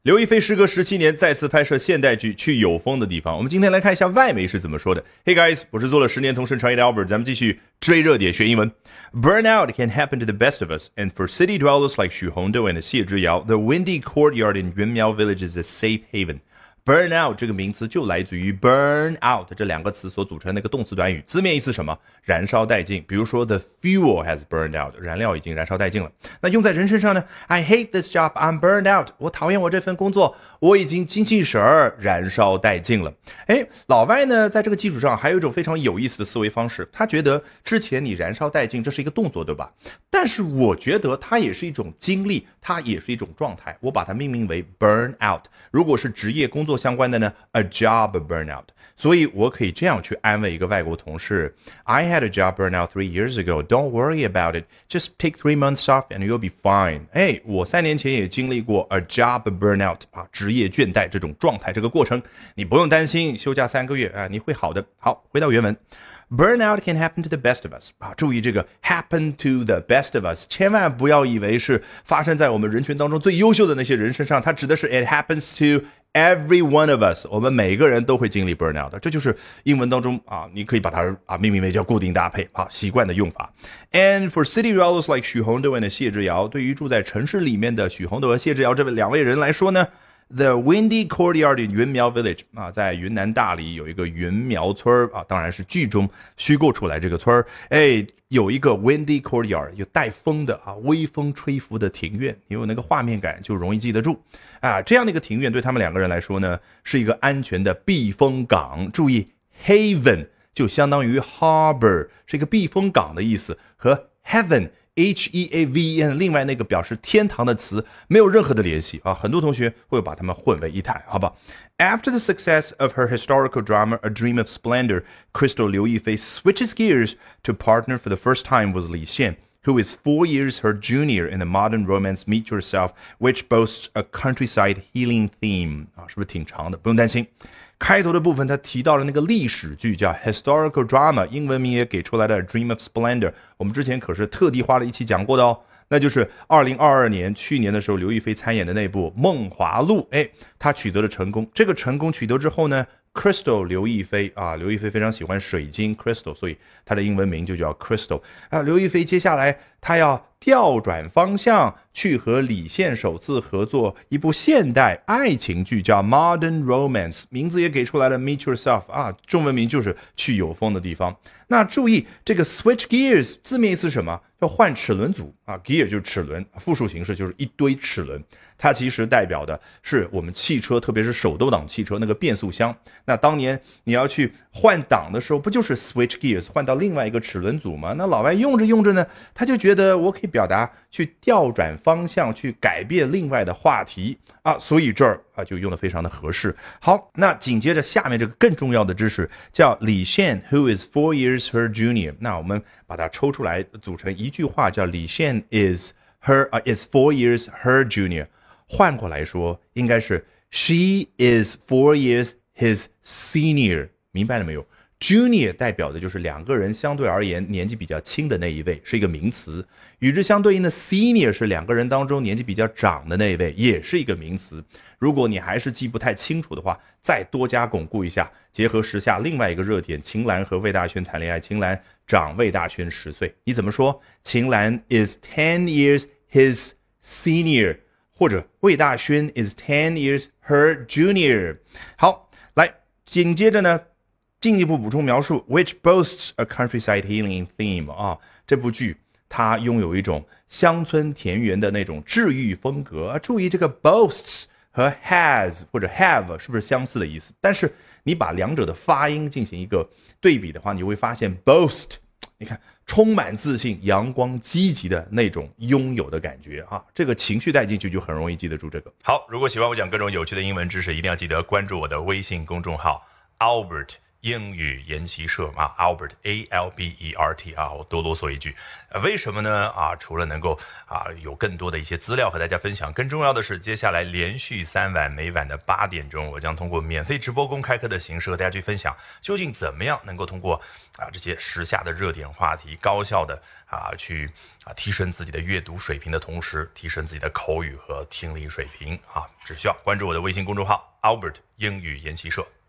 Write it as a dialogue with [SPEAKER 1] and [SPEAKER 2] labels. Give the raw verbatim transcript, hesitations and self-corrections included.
[SPEAKER 1] 刘亦菲时隔十七年再次拍摄现代剧《去有风的地方》。我们今天来看一下外媒是怎么说的。Hey guys， 我是做了十年同声传译的 Albert， 咱们继续追热点学英文。Burnout can happen to the best of us, and for city dwellers like Xu Hongdou and 谢之遥, the windy courtyard in Yunmiao Village is a safe haven.Burnout 这个名词就来自于 burn out 这两个词所组成的一个动词短语，字面意思什么？燃烧殆尽。比如说 the fuel has burned out， 燃料已经燃烧殆尽了。那用在人身上呢？ I hate this job, I'm burned out， 我讨厌我这份工作，我已经精气神儿燃烧殆尽了。诶，老外呢在这个基础上还有一种非常有意思的思维方式，他觉得之前你燃烧殆尽这是一个动作，对吧？但是我觉得它也是一种经历，它也是一种状态，我把它命名为 burn out。如果是职业工作相关的呢 a job burnout， 所以我可以这样去安慰一个外国同事 I had a job burnout three years ago, don't worry about it, just take three months off and you'll be fine。 哎，我三年前也经历过 a job burnout 啊，职业倦怠这种状态，这个过程你不用担心，休假三个月啊，你会好的。好，回到原文。Burnout can happen to the best of us 啊，注意这个 happen to the best of us， 千万不要以为是发生在我们人群当中最优秀的那些人身上，它指的是 it happens to every one of us， 我们每个人都会经历 burnout 的，这就是英文当中啊，你可以把它啊命名为叫固定搭配啊，习惯的用法。And for city dwellers like Xu Hongdou and 谢之遥，对于住在城市里面的许宏斗和谢之遥这两位人来说呢，The windy courtyard in Yunmiao Village 啊，在云南大理有一个云苗村啊，当然是剧中虚构出来这个村哎，有一个 windy courtyard， 有带风的啊，微风吹拂的庭院，你有那个画面感就容易记得住啊。这样的一个庭院对他们两个人来说呢，是一个安全的避风港。注意 haven 就相当于 harbor， 是一个避风港的意思，和 heaven。H E A V E N 另外那个表示天堂的词没有任何的联系啊，很多同学会把它们混为一谈，好吧。After the success of her historical drama A Dream of Splendor, Crystal Liu Yifei switches gears to partner for the first time with Li Xian, who is four years her junior in the modern romance Meet Yourself, which boasts a countryside healing theme 啊，是不是挺长的？不用担心。开头的部分他提到了那个历史剧叫 historical drama， 英文名也给出来的 A Dream of Splendor， 我们之前可是特地花了一期讲过的哦，那就是二零二二年去年的时候刘亦菲参演的那部《梦华录》。哎，她取得了成功，这个成功取得之后呢Crystal 刘亦菲啊，刘亦菲非常喜欢水晶 Crystal， 所以她的英文名就叫 Crystal 啊。刘亦菲接下来她要调转方向，去和李现首次合作一部现代爱情剧，叫 Modern Romance， 名字也给出来了 Meet Yourself 啊，中文名就是去有风的地方。那注意这个 switch gears 字面意思是什么？要换齿轮组啊 ，gear 就是齿轮，复数形式就是一堆齿轮。它其实代表的是我们汽车，特别是手动挡汽车那个变速箱。那当年你要去换挡的时候，不就是 switch gears 换到另外一个齿轮组吗？那老外用着用着呢，他就觉得我可以表达去调转方向，去改变另外的话题啊，所以这儿啊就用得非常的合适。好，那紧接着下面这个更重要的知识叫李现 who is four years her junior， 那我们把它抽出来组成一句话，叫李现 is her、uh, is four years her junior， 换过来说应该是 she is four years his senior， 明白了没有？ Junior 代表的就是两个人相对而言年纪比较轻的那一位，是一个名词。与之相对应的 Senior 是两个人当中年纪比较长的那一位，也是一个名词。如果你还是记不太清楚的话，再多加巩固一下，结合时下另外一个热点，秦岚和魏大勋谈恋爱，秦岚长魏大勋十岁，你怎么说？秦岚 is ten years his senior， 或者魏大勋 is ten years her junior。 好，来紧接着呢进一步补充描述 which boasts a countryside healing theme 啊，这部剧它拥有一种乡村田园的那种治愈风格、啊、注意这个 boasts 和 has 或者 have 是不是相似的意思？但是你把两者的发音进行一个对比的话，你会发现 boast 你看充满自信阳光积极的那种拥有的感觉啊，这个情绪带进去就很容易记得住这个。好，如果喜欢我讲各种有趣的英文知识，一定要记得关注我的微信公众号 Albert 英语研习社啊 ，Albert A L B E R T 啊，我多啰嗦一句，呃，为什么呢？啊，除了能够啊有更多的一些资料和大家分享，更重要的是，接下来连续三晚，每晚的八点钟，我将通过免费直播公开课的形式和大家去分享，究竟怎么样能够通过啊这些时下的热点话题，高效的啊去啊提升自己的阅读水平的同时，提升自己的口语和听力水平啊，只需要关注我的微信公众号 Albert 英语研习社。